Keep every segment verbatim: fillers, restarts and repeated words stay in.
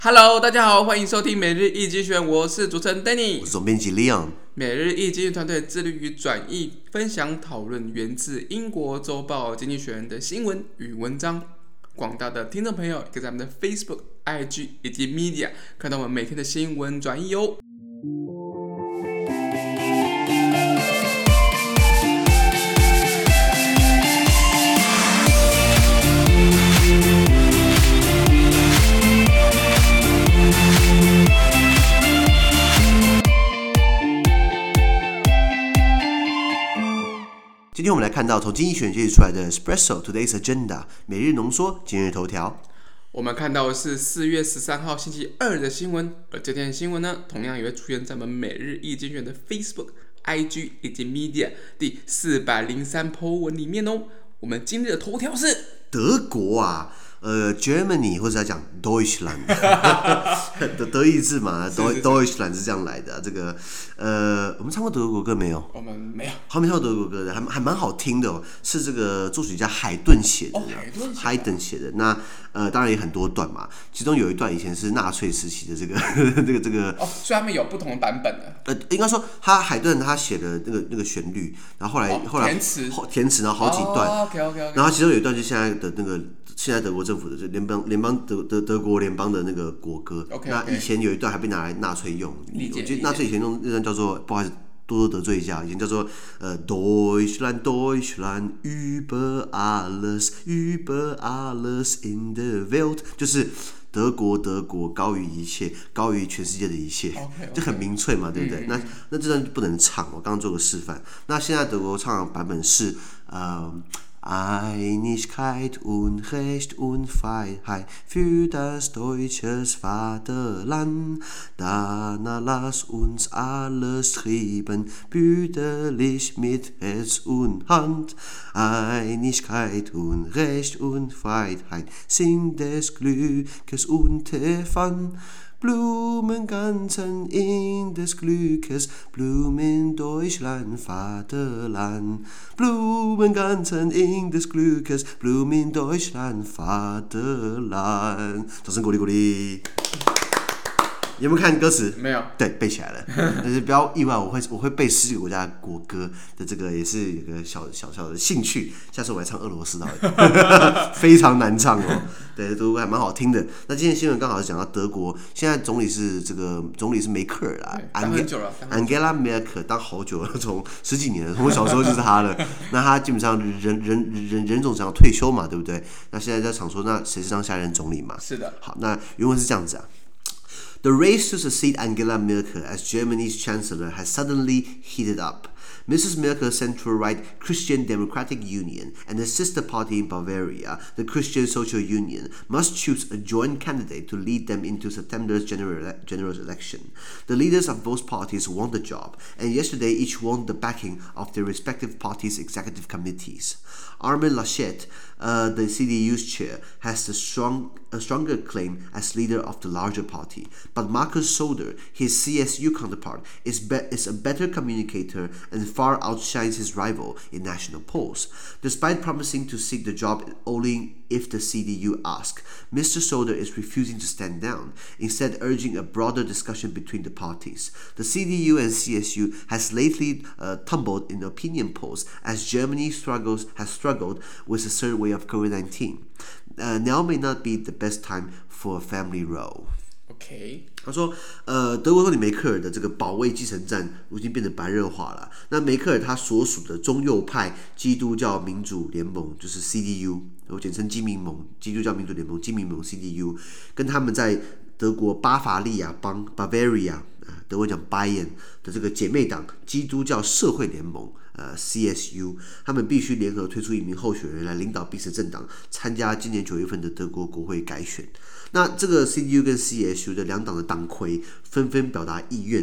Hello， 大家好，歡迎收聽每日一經濟學人，我是主持人 Danny， 我是總編輯 Leon。 每日一經濟團隊致力於轉譯、分享、討論源自英國週報《經濟學人》的新聞與文章。廣大的聽眾朋友可以在我們的 Facebook、I G 以及 Media 看到我們每天的新聞轉譯哦。 今天我們來看到從經濟學人截取出來的 Espresso Today's Agenda 每日濃縮今日頭條。 我們看到的是四月十三號星期二的新聞，而這天的新聞呢，同樣也會出現在我們每日一經濟學人的 Facebook、I G 以及 Media 第四百零三 po 文裡面哦。我們今日的頭條是德國啊。呃 ，Germany 或者要講 Deutschland 的德意志嘛 ，Deutschland 是這樣來的、啊。這個呃，我們唱過德國歌沒有？ 我們沒有。 還沒唱過德國歌的，還還蠻好聽的哦。是這個作曲家海頓寫的，海頓寫的。那呃，當然也很多段嘛，其中有一段以前是納粹時期的這個這個這個。哦， 所以他們有不同的版本的。 呃，應該說他海頓他寫的那個那個旋律，然後後來、哦、後來填詞， 填詞，然後好幾段。 哦、OK OK OK。 然後其中有一段就現在的那個。現在德國政府的就聯邦聯邦德德德國聯邦的那個國歌， okay, okay. 那以前有一段還被拿來納粹用，我覺得納粹以前用那段叫做，不好意思多多得罪一下，以前叫做呃 Deutschland Deutschland über alles über alles in der Welt， 就是德國德國高於一切，高於全世界的一切， okay, okay. 就很民粹嘛，對不对？嗯、那那這段不能唱，我剛剛做個示範。那現在德國唱的版本是呃。Einigkeit und Recht und Freiheit für das deutsche Vaterland. Danach lass uns alles streben, brüderlich mit Herz und Hand. Einigkeit und Recht und Freiheit sind des Glückes Unterpfand.Blumenganzen in des Glückes, Blumen Deutschland, Vaterland. Blumenganzen in des Glückes, Blumen Deutschland, Vaterland. 掌聲鼓勵鼓勵。有沒有看歌詞？沒有。對，背起來了。但是不要意外，我會我會背十幾個國家的國歌的這個也是有個小小小的興趣。下次我來唱俄羅斯的，非常難唱哦。對，都還蠻好聽的。那今天新聞剛好是講到德國，現在總理是這個總理是梅克爾啦， 當很久了 Angela Merkel 當好久了，從十幾年了，從我小時候就是他了。那他基本上人人人人總想要退休嘛，對不對？那現在在想說，那誰是當下一任總理嘛？ 是的。好， 那原文是這樣子啊。The race to succeed Angela Merkel as Germany's chancellor has suddenly heated up. Missus Merkel's central-right Christian Democratic Union and the sister party in Bavaria, the Christian Social Union, must choose a joint candidate to lead them into September's general, general election. The leaders of both parties want the job, and yesterday each won the backing of their respective parties' executive committees. Armin Laschet, uh, the C D U's chair, has the strong, a stronger claim as leader of the larger party, but Markus Söder, his C S U counterpart, is, be- is a better communicator and far outshines his rival in national polls. Despite promising to seek the job only if the C D U asks, Mister Söder is refusing to stand down, instead urging a broader discussion between the parties. The C D U and C S U has lately uh, tumbled in opinion polls as Germany struggles has struggled with the third wave of COVID nineteen. Uh, now may not be the best time for a family row.Okay. 他說，呃，德國總理梅克爾的這個保衛繼承戰已經變得白熱化了。那梅克爾他所屬的中右派基督教民主聯盟，就是 C D U， 我簡稱基民盟，基督教民主聯盟基民盟 C D U， 跟他們在德國巴伐利亞邦 Bavaria， 德國講 Bayern 的這個姐妹黨基督教社會聯盟。呃 ，C S U， 他們必須聯合推出一名候選人來領導彼此政黨參加今年九月份的德國國會改選。那這個 C D U 跟 C S U 的兩黨的黨魁紛紛表達意願。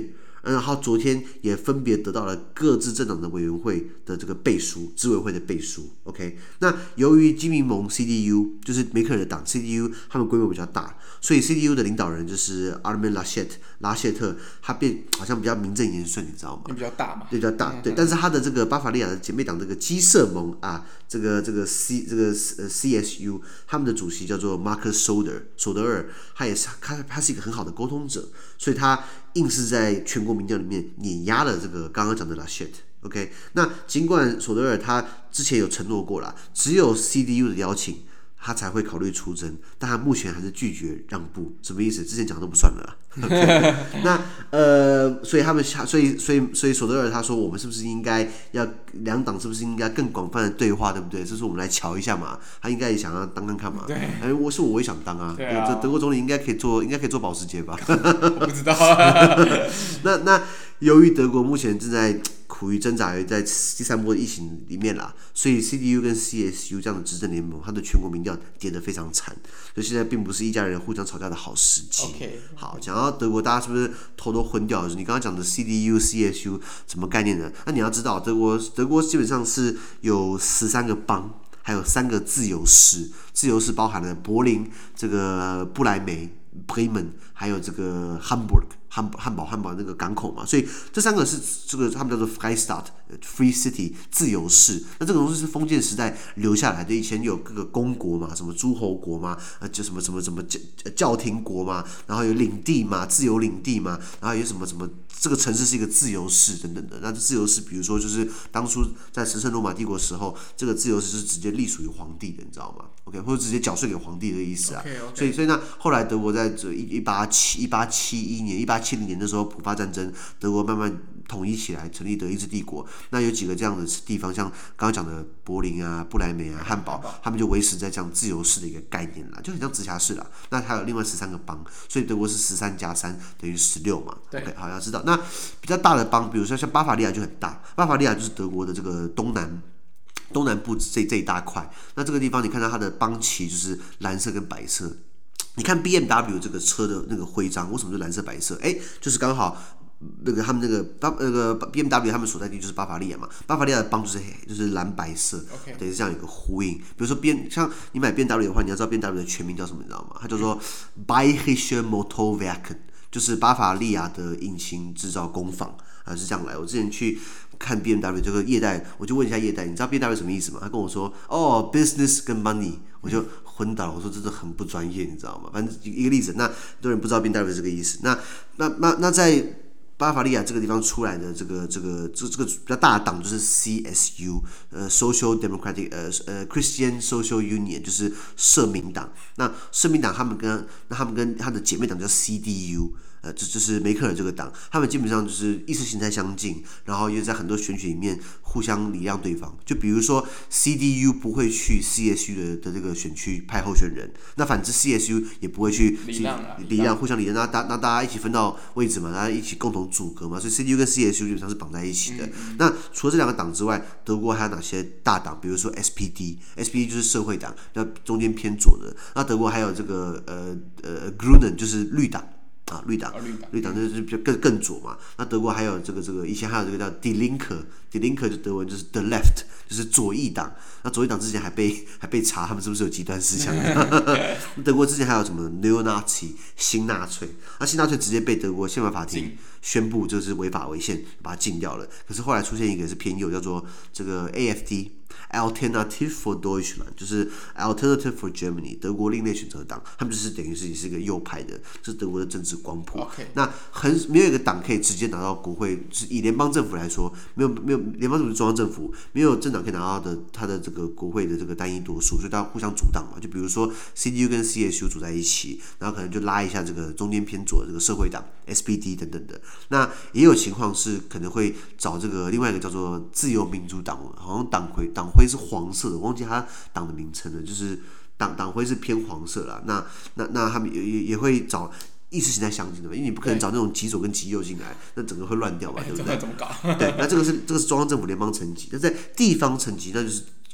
然後昨天也分別得到了各自政黨的委員會的這個背書，執委會的背書。OK， 那由於基民盟 C D U 就是梅克爾的黨 C D U， 他們規模比較大，所以 C D U 的領導人就是 Armin Laschet 拉謝特，他變好像比較名正言順，你知道嗎？ 比較大嘛， 对，比較大，对。但是他的這個巴伐利亞的姐妹黨這個基社盟啊，這個這個 C 這個呃 C S U， 他們的主席叫做 Markus Söder 索德爾，他也是他他是一個很好的溝通者，所以他硬是在全國民調裡面碾壓了這個剛剛講的 Laschet。OK， 那儘管索德爾他之前有承諾過啦，只有 C D U 的邀請，他才會考慮出征，但他目前還是拒絕讓步，什麼意思？之前講的都不算了啦。Okay, 那呃，所以他們，所以所以所以索德爾他說，我們是不是應該要兩黨是不是應該更廣泛的對話，對不對？這是我們來瞧一下嘛。他應該也想要當看看嘛。對。哎，我是我，我也想當啊。對啊。這德國總理應該可以做，應該可以做保時捷吧？ 我不知道啊。 那那由於德國目前正在苦於掙扎於在第三波的疫情裡面啦，所以 C D U 跟 C S U 這樣的執政聯盟，它的全國民調跌得非常慘，所以現在並不是一家人互相吵架的好時機。 Okay, 好，講到德國，大家是不是頭都昏掉了？你剛剛講的 C D U、C S U 什麼概念呢？那你要知道，德國德國基本上是有十三個邦，還有三個自由市，自由市包含了柏林、這個布萊梅、Bremen， 還有這個 Hamburg。漢漢堡漢堡那個港口嘛，所以這三個是這個他們叫做 Freistaat、Free City 自由市。那這個東西是封建時代留下來的，以前有各個公國嘛，什麼諸侯國嘛，呃，就什麼什麼什麼教教廷國嘛，然後有領地嘛，自由領地嘛，然後有什麼什麼這個城市是一個自由市等等的。那這自由市，比如說就是當初在神聖羅馬帝國的時候，這個自由市是直接隸屬於皇帝的，你知道嗎 ？OK， 或者直接繳稅給皇帝的意思啊。 Okay, okay. 所以所以呢，後來德國在這一八七一八七一年一八七零年的時候，普法戰爭，德國慢慢統一起来，成立德意志帝國。那有幾個這樣的地方，像剛剛講的柏林啊、布萊梅啊、漢堡，他們就維持在這樣自由市的一個概念啦，就很像直轄市啦。那還有另外十三個邦，所以德國是十三加三等於十六嘛。對 ，OK， 好，要知道。那比較大的邦，比如說像巴伐利亞就很大，巴伐利亞就是德國的這個東南。東南部這這一大塊，那這個地方你看到它的邦旗就是藍色跟白色。你看 B M W 這個車的那個徽章，為什麼是藍色白色？哎，就是剛好那個他們那個巴那個 B M W 他們所在地就是巴伐利亞嘛，巴伐利亞的邦就是黑，就是藍白色， okay. 等於是這樣有一個呼應。比如說 B 像你買 B M W 的話，你要知道 B M W 的全名叫什麼，你知道嗎？它叫做 Bayerische Motorwerke， 就是巴伐利亞的引擎製造工坊啊，是這樣來。我之前去看 B M W 這個業代，我就問一下業代，你知道 B M W 什麼意思嗎？他跟我說，哦 ，business 跟 money， 我就昏倒了。我說這是很不專業，你知道嗎？反正一個例子，那很多人不知道 B M W 這個意思。那那那那在巴伐利亞這個地方出來的這個這個這這個比較大的黨就是 C S U， 呃 ，Social Democratic， 呃呃 Christian Social Union， 就是社民黨。那社民黨他們跟那他們跟他的姐妹黨叫 C D U。呃，这就是梅克爾這個黨，他們基本上就是意識形態相近，然後也在很多選舉裡面互相禮讓對方。就比如說 C D U 不會去 C S U 的的這個選區派候選人，那反之 C S U 也不會去禮讓禮讓，互相禮讓，那大那大家一起分到位置嘛，大家一起共同組閣嘛，所以 C D U 跟 C S U 基本上是綁在一起的。嗯、那除了這兩個黨之外，德國還有哪些大黨？比如說 S P D，S P D 就是社會黨，那中間偏左的。那德國還有這個呃呃 Grünen 就是綠黨。啊，綠黨，綠黨就是比較更更左嘛。那德國還有這個這個，以前還有這個叫 Die Linke，Die Linke 就德文就是 the left， 就是左翼黨。那左翼黨之前還被還被查他們是不是有極端思想。德國之前還有什麼 Neo-Nazi 新納粹，那新納粹直接被德國憲法法庭宣布就是違法違憲，把它禁掉了。可是後來出現一個是偏右，叫做這個 A F D。Alternative for Deutschland 就是 Alternative for Germany， 德國另類選擇黨，他們就是等於是也是一個右派的，這是德國的政治光譜。Okay. 那很沒有一個黨可以直接拿到國會，就是以聯邦政府來說，沒有沒有聯邦政府是中央政府，沒有政黨可以拿到的他的這個國會的這個單一多數，所以大家互相阻擋嘛。就比如說 C D U 跟 C S U 組在一起，然後可能就拉一下這個中間偏左的這個社會黨 S P D 等等的。那也有情況是可能會找這個另外一個叫做自由民主黨，好像黨魁黨徽是黃色的，我忘記他黨的名稱了，就是黨黨徽是偏黃色啦。那那那他們也也也會找意識形態相近的嘛，因為你不可能找那種極左跟極右進來，那整個會亂掉吧，對不對？ 怎麼搞？ 對，那這個是這個是中央政府聯邦層級，那在地方層級那就是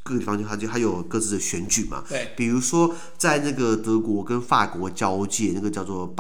各個地方就它就它有各自的選舉嘛。 對。 比如說在那個德國跟法國交界，那個叫做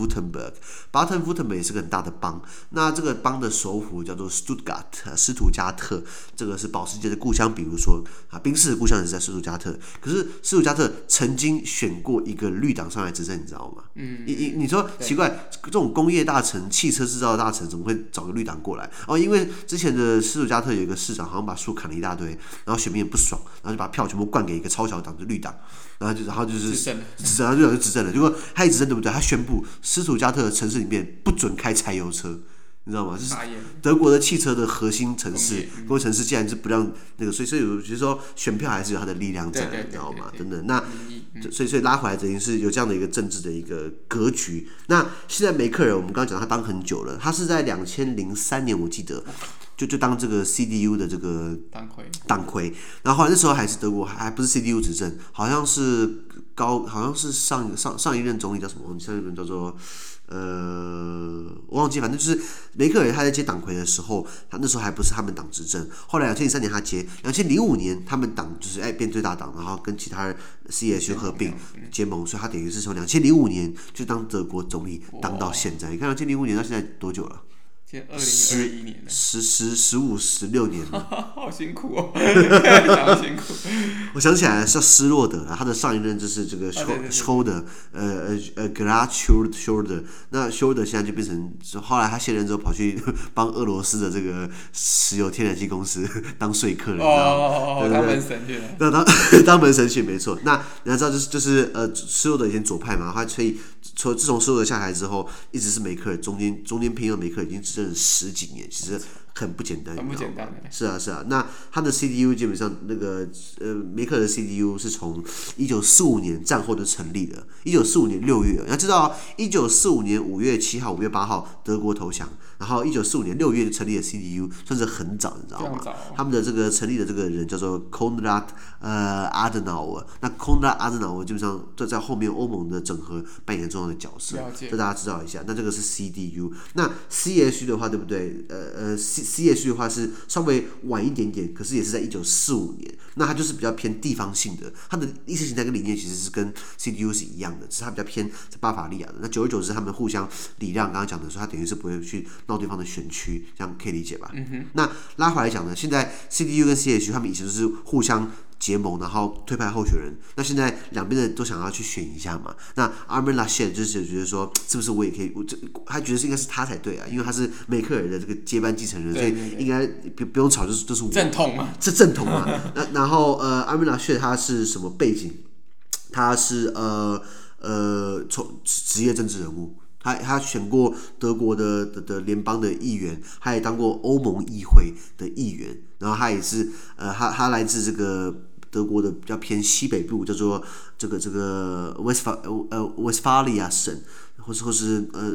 Baden-Württemberg，Baden-Württemberg 也是個很大的邦。那這個邦的首府叫做 Stuttgart， 斯圖加特，這個是保時捷的故鄉。比如說啊，賓士的故鄉也是在斯圖加特。可是斯圖加特曾經選過一個綠黨上來執政，你知道嗎？嗯。你你你說奇怪，這種工業大城、汽車製造的大城，怎麼會找個綠黨過來？哦，因為之前的斯圖加特有一個市長，好像把樹砍了一大堆，然後選民也不爽。然後就把票全部灌給一個超小黨，就綠黨，然後就然後就是執政，然後綠黨就執政了。結果他一執政對不對？他宣布斯圖加特的城市裡面不准開柴油車，你知道嗎？就是德國的汽車的核心城市，工業城市竟然是不讓那個，所以所以我覺得說選票還是有它的力量在，你知道嗎？真的，那所以所以拉回來等於是有這樣的一個政治的一個格局。那現在梅克爾，我們剛剛講他當很久了，他是在兩千零三年我記得。就就當這個 C D U 的這個黨魁，黨魁，然後後來那時候還是德國，還不是 C D U 執政，好像是高，好像是上上上一任總理叫什麼？上一任叫做呃，我忘記，反正就是梅克爾他在接黨魁的時候，他那時候還不是他們黨執政。後來兩千零三年他接，兩千零五年他們黨就是哎變最大黨，然後跟其他 C S U 合併結盟，所以他等於是從兩千零五年就當德國總理當到現在。你看兩千零五年到現在多久了？ 現在二零二一年了， 十十十五十六年了， 好辛苦哦，好辛苦。 我想起來了，叫施洛德了，他的上一任就是這個 Schröder， 呃呃呃 Gerhard Schröder， 那 Schröder 現在就變成，後來他卸任之後跑去幫俄羅斯的這個石油天然氣公司當說客了，你知道嗎？ 哦哦，當門神去了。 那當當門神去沒錯。那你要知道就是就是呃施洛德以前左派嘛，他所以從自從施洛德下台之後，一直是梅克爾中間中間偏右，梅克爾已經執政了十幾年，其實很不簡單， 很不簡单。 是啊是啊，那他的 C D U 基本上那個呃梅克爾的 C D U 是從一九四五年戰後就成立的，一九四五年六月，你要知道一九四五年五月七號、五月八號德國投降，然後一九四五年六月就成立了 C D U， 算是很早，你知道嗎？他們的這個成立的這個人叫做 Konrad 呃 Adenauer， 那 Konrad Adenauer 基本上就在後面歐盟的整合扮演重要的角色，這大家知道一下。那這個是 C D U， 那 C S U 的話，對不對？呃呃 C C S U 的話是稍微晚一點點，可是也是在一九四五年。那它就是比較偏地方性的，它的意識形態跟理念其實是跟 C D U 是一樣的，只是它比較偏在巴伐利亞的。那久而久之，他們互相禮讓，剛剛講的說，他等於是不會去鬧對方的選區，這樣可以理解吧？嗯、那拉回來講呢，現在 C D U 跟 C S U 他們以前都是互相結盟，然後推派候選人。那現在兩邊的都想要去選一下嘛。那 Armin Laschet 就是覺得說，是不是我也可以？我這他覺得是應該是他才對啊，因為他是梅克爾的這個接班繼承人， 對對對， 所以應該不不用吵，就是就是我正統嘛， 是正統嘛。那然後呃 ，Armin Laschet 他是什麼背景？他是呃呃從職業政治人物。他他選過德國的的的聯邦的議員，他也當過歐盟議會的議員，然後他也是呃他他來自這個德國的比較偏西北部，叫做這個這個 Westphalia 呃 Westphalia 省，或是或是呃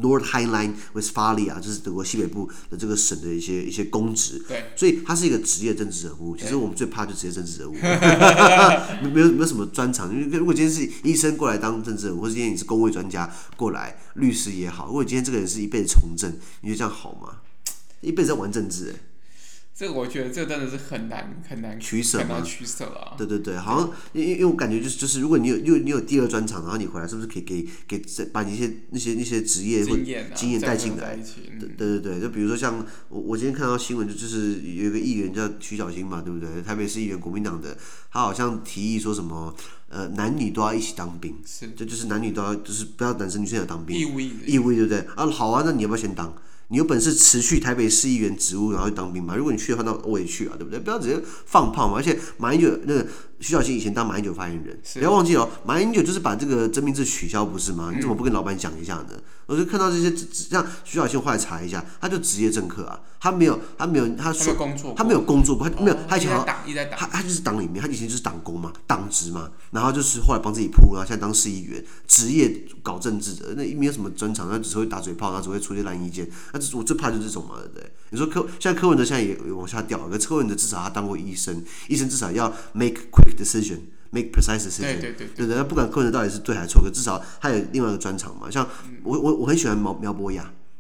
Nordrhein-Westphalia， 就是德國西北部的這個省的一些一些公職。對，所以他是一個職業政治人物。其實我們最怕就職業政治人物，沒有沒有什麼專長。因為如果今天是醫生過來當政治人物，或者今天你是公衛專家過來，律師也好，如果今天這個人是一輩子從政，你覺得這樣好嗎？一輩子在玩政治、欸， 這個我覺得這真的是很難很難取捨，很難取捨啊。 對對對，好像因為因為我感覺就是就是，如果你有你有你有第二專長，然後你回來是不是可以給給把你一些那些那些職業或經驗帶進來？對對對，就比如說像我我今天看到新聞，就就是有一個議員叫徐小新嘛，對不對？台北市議員，國民黨的，他好像提議說什麼呃男女都要一起當兵，是，這就是男女都要就是不要男生女生要當兵，義務役義務役，對不对？啊好啊，那你要不要先當？你有本事辭去台北市議員職務，然後去當兵嘛？如果你去的話，那我也去啊，對不對？不要直接放炮嘛！而且馬英九那個徐小新以前當馬英九發言人，不要忘記哦，馬英九就是把這個徵兵制取消，不是嗎？你怎麼不跟老闆講一下呢？嗯、我就看到這些，像徐小新，我後來查一下，他就職業政客啊，他沒有，他沒有，他說他沒有工作過，他沒有，他以前好像他他就是黨裡面，他以前就是黨工嘛，黨職嘛，然後就是後來幫自己鋪路，然後現在當市議員，職業搞政治的，那沒有什麼專長，他只會打嘴炮，他只會出些爛意見。我最怕就是這種嘛，對不對？你說柯，現在柯文哲現在也往下掉，可是柯文哲至少他當過醫生，醫生至少要 make quick decision，make precise decision，對對對，對對，不管柯文哲到底是對還是錯，可至少他有另外一個專長嘛。像我我我很喜歡苗苗博雅，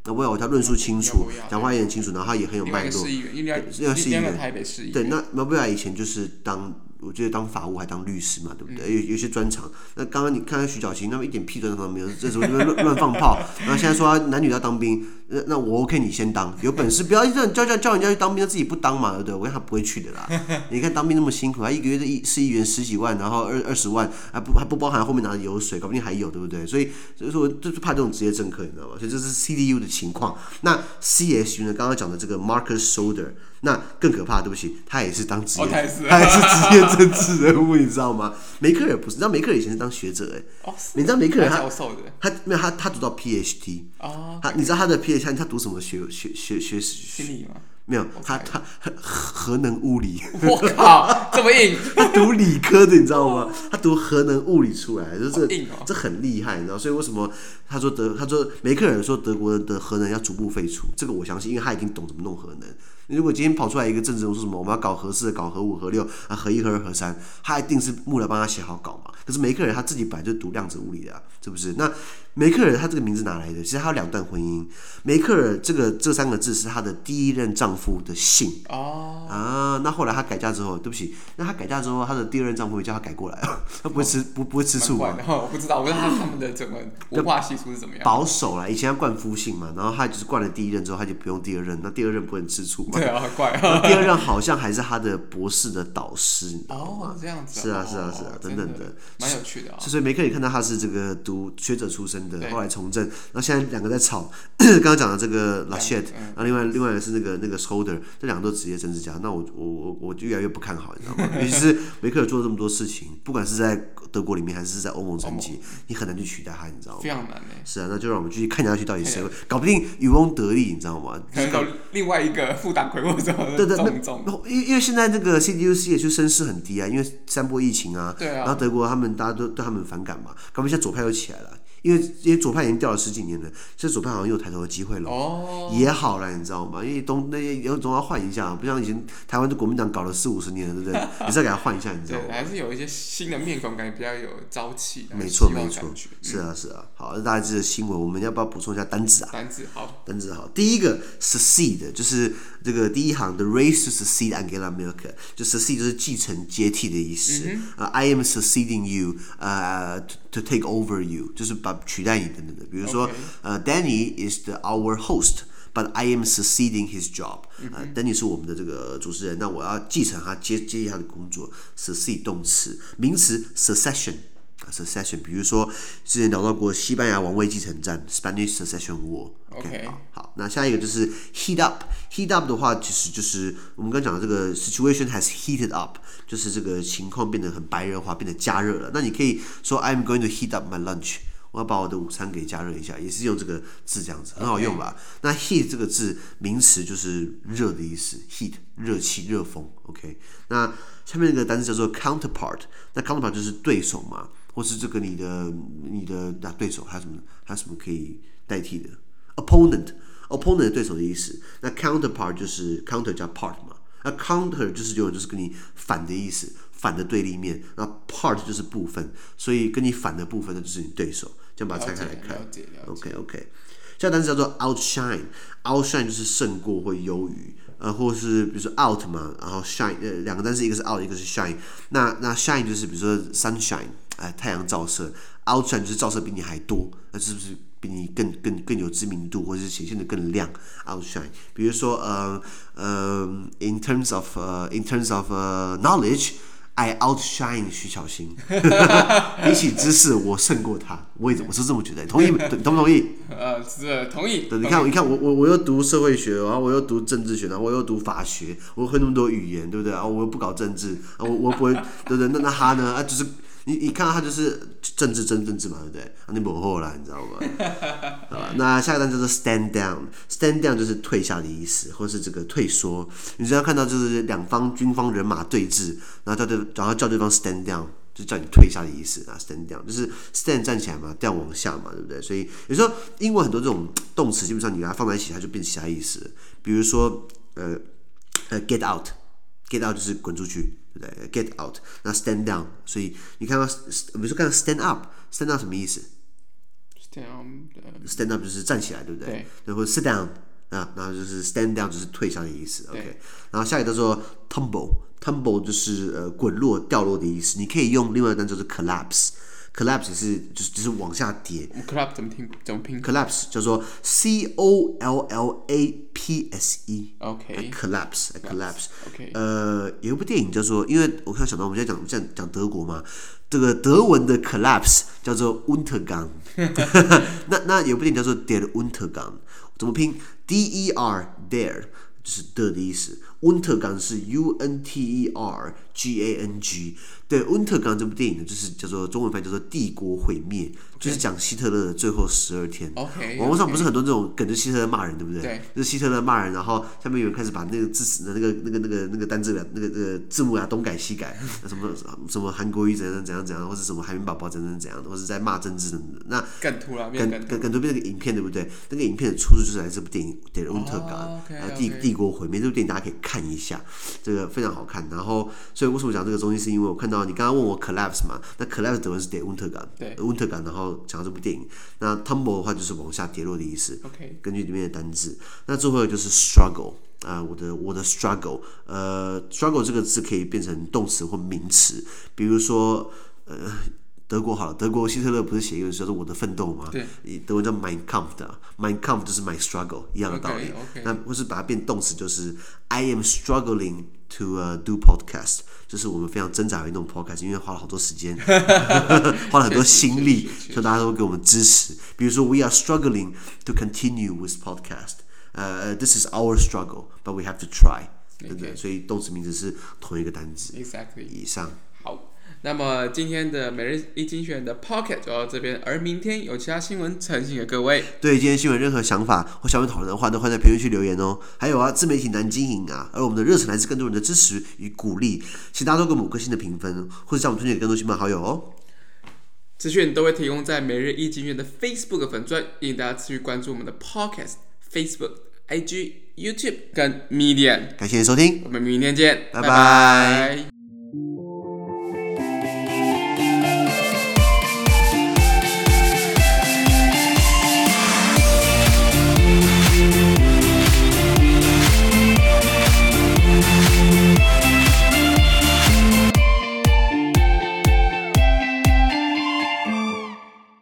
那我有他論述清楚，講話也很清楚，然後他也很有脈絡。 另外一個市議員，台北市議員。 對，那馬布亞以前就是當。我覺得當法務還當律師嘛，對不對？有有些專長。那剛剛你看看徐小青，那麼一點屁專長都沒有，這時候亂亂放炮。然後現在說男女要當兵，那那我 OK， 你先當，有本事不要叫叫叫叫人家去當兵，他自己不當嘛，對不對？我看他不會去的啦。你看當兵那麼辛苦，他一個月的市議員十幾萬，然後二二十萬，還不還不包含後面拿的油水，搞不定還有，對不對？所以所以說就是怕這種職業政客，你知道嗎？所以這是 C D U 的情況。那 C S U 呢？剛剛講的這個 Marcus Soder。那更可怕，對不起，他也是當職業，哦、他也是職業政治人物，你知道嗎？梅克爾不是，你知道梅克爾以前是當學者哎、欸，哦、你知道梅克爾他他沒有他他讀到 P H D， 哦，他你知道他的 P H D 他讀什麼學學學學心理嗎？沒有，他他核能物理， 我靠，這麼硬！ 他讀理科的，你知道嗎？他讀核能物理出來，就是這個、 哦、 這很厲害，你知道？所以為什麼他說德他說梅克爾說德國的核能要逐步廢除？這個我相信，因為他已經懂怎麼弄核能。如果今天跑出來一個政治人物說什麼我們要搞核四、搞核五、核六啊、核一、核二、核三，他一定是幕僚幫他寫好稿嘛。可是梅克爾他自己本來就讀量子物理的、啊，是不是？那梅克爾他這個名字哪來的？其實他有兩段婚姻。梅克爾這個這三個字是他的第一任丈夫的姓。哦。啊，那後來他改嫁之後，對不起，那他改嫁之後，他的第二任丈夫也叫他改過來，他不會吃、哦、不不會吃醋啊。 我不知道，我不知道他他們的整個文化習俗是怎麼樣。 保守啦，以前他冠夫姓嘛，然後他就是冠了第一任之後，他就不用第二任，那第二任不能吃醋嘛。 對啊，很怪啊。 第二任好像還是他的博士的導師，你知道嗎？ 哦，這樣子、啊。 是啊，是啊，是啊， 哦、 等等的， 蠻有趣的啊、哦。 所以梅克爾看到他是這個讀學者出身的，後來從政，然後現在兩個在吵。剛剛講的這個 Laschet， 然後另外另外的是那個那個 Soder， 這兩個都職業政治家，那我我我我就越來越不看好，你知道嗎？尤其是梅克爾做了這麼多事情，不管是在德國裡面還是在歐盟層級，你很難去取代他，你知道嗎？ 非常難誒。 是啊，那就讓我們繼續看下去，到底誰會搞不定漁翁得利，你知道嗎？ 可能有另外一個副黨魁或者什麼的。對對對， 因因為現在這個 C D U C 也就聲勢很低啊，因為三波疫情啊，對啊，然後德國他們大家都對他們反感嘛，搞不定現在左派又起來了。因為因為左派已經掉了十幾年了，現在左派好像又有抬頭的機會了，哦、也好了，你知道嗎？因為東那些總要換一下，不像以前台灣的國民黨搞了四五十年了，對不對？也是要給他換一下，你知道嗎？ 對，還是有一些新的面孔，感覺比較有朝氣。 沒錯沒錯，是啊是啊。好，大家這個新聞，我們要不要補充一下單字啊？ 單字好， 單字好。第一個 succeed 就是這個第一行 the race to succeed Angela Merkel， 就 succeed 就是繼承接替的意思。嗯呃、I am succeeding you， 呃、uh, to, to take over you， 就是把取代你等等的。比如說，呃、okay. uh, ，Danny is the our host，but I am succeeding his job。呃、uh, ，Danny 是我們的這個主持人，那我要繼承他接接替他的工作。succeed 動詞，名詞 succession。Succession， 比如說之前聊到過西班牙王位繼承戰 （Spanish Succession War）。OK， 好，好，那下一個就是 heat up。heat up 的話，其實就是我們剛講的這個 situation has heated up， 就是這個情況變得很白熱化，變得加熱了。那你可以說 I'm going to heat up my lunch， 我要把我的午餐給加熱一下，也是用這個字這樣子，很好用吧？ Okay. 那 heat 這個字名詞就是熱的意思 ，heat 熱氣、熱風。OK， 那下面那個單詞叫做 counterpart， 那 counterpart 就是對手嘛。或是這個你的你的那對手還有什麼還有什麼可以代替的 opponent opponent 的對手的意思。那 counterpart 就是 counter 加 part 嘛，那 counter 就是有就是跟你反的意思，反的對立面。那 part 就是部分，所以跟你反的部分那就是你對手。這樣把它拆開來看。OK OK， 下單詞叫做 outshine， outshine 就是勝過或優於。呃，或是比如說 out 嘛，然後 shine， 呃，兩個單詞一個是 out， 一個是 shine。那那 shine 就是比如說 sunshine， 哎，太陽照射 ；outshine 就是照射比你還多，那是不是比你更更更有知名度，或者是顯現得更亮 ？outshine。比如說呃呃 ，in terms of 呃、uh, in terms of、uh, knowledge。I outshine 徐巧芯，比起知識，我勝過他。我也我是這麼覺得，同意同不同意？ 呃，是同意。 對，你看，你看我我我又讀社會學，然後我又讀政治學，然後我又讀法學，我會那麼多語言，對不對啊？我又不搞政治，啊，我我不會，對不對？那那他呢？啊，就是你你看到他就是政治真政治嘛，對不對？啊，你不好啦，你知道嗎？好吧，那下一個單詞就是 stand down，stand down 就是退下的意思，或是這個退縮。你只要看到就是兩方軍方人馬對峙，然後叫對，然後叫對方 stand down，就叫你退下的意思啊。stand down 就是 stand 站起來嘛，down 往下嘛，對不對？所以有時候英文很多這種動詞，基本上你把它放在一起，它就變其他意思了。比如說呃呃 get out，get out 就是滾出去，對不對 ？get out， 那 stand down， 所以你看到比如說看到 stand up，stand up 什麼意思 stand up 就是站起來，对不对？对，或者 sit down 啊，然後就是 stand down 就是退下的意思。OK， 然後下一個叫做 tumble，tumble 就是呃滾落、掉落的意思。你可以用另外一個單詞就是 collapse。collapse 也是就是就是往下跌。 collapse 怎麼聽？怎麼拼 ？collapse 叫做 C O L L A P S E。OK。collapse collapse。OK。呃，有一部電影叫做，因為我看想到我們現在講講講德國嘛，這個德文的 collapse 叫做 Untergang 那那有部電影叫做 Der Untergang， 怎麼拼 ？D E R Der 就是的的意思。Untergang 是 U N T E R G A N G， 對 Untergang 這部電影呢，就是叫做中文翻譯叫做帝國毀滅， okay. 就是講希特勒的最後十二天。 Okay, 網絡上不是很多這種梗，就希特勒罵人，對不對？ 對， 就是希特勒罵人，然後下面有人開始把那個字詞的那個那個那個那個單字的那個那個字幕啊東改西改，什麼什麼韓國瑜怎樣怎樣怎樣，或是什麼海綿寶寶怎樣怎樣，或是在罵政治等等。那梗圖啦， 梗梗梗圖變成個影片，對不對？那個影片的出處就是來自這部電影《Der Untergang》，帝帝國毀滅。這部電影大家可以看一下。這個非常好看，然後所以為什麼講這個東西，是因為我看到你剛剛問我 collapse 嘛，那 collapse 德文是 der Untergang， 對 Untergang， 然後講到這部電影，那 tumble 的話就是往下跌落的意思。OK， 根據裡面的單字，那最後就是 struggle 啊、呃，我的我的 struggle， 呃 struggle 這個字可以變成動詞或名詞，比如說呃。德國好了，德國希特勒不是寫一個叫做《我的奮鬥》嗎？對，德文叫 Mein Kampf 的 ，Mein Kampf 就是 my struggle 一樣的道理。Okay, okay. 那或是把它變動詞，就是 I am struggling to、uh, do podcast， 就是我們非常掙扎於弄 podcast， 因為花了好多時間，花了很多心力，所以大家都給我們支持。比如說 ，We are struggling to continue with podcast， 呃、uh, ，This is our struggle，but we have to try， 对不對？所以動詞名詞是同一個單字。 Exactly。 以上。 好。那麼今天的每日一精選的 Pocket 就到這邊，而明天有其他新聞呈現給各位。 對今天新聞任何想法或想要討論的話，都歡迎在評論區留言哦。還有啊，自媒體難經營啊，而我們的熱忱來自更多人的支持與鼓勵，請大家都給我們五顆星的評分，或者將我們推薦給更多親朋好友哦。 資訊都會提供在每日一精選的 Facebook 粉專，歡迎大家持續關注我們的 Podcast、Facebook、I G、YouTube 跟 Medium。 感謝你收聽， 我們明天見， 拜拜。 拜拜。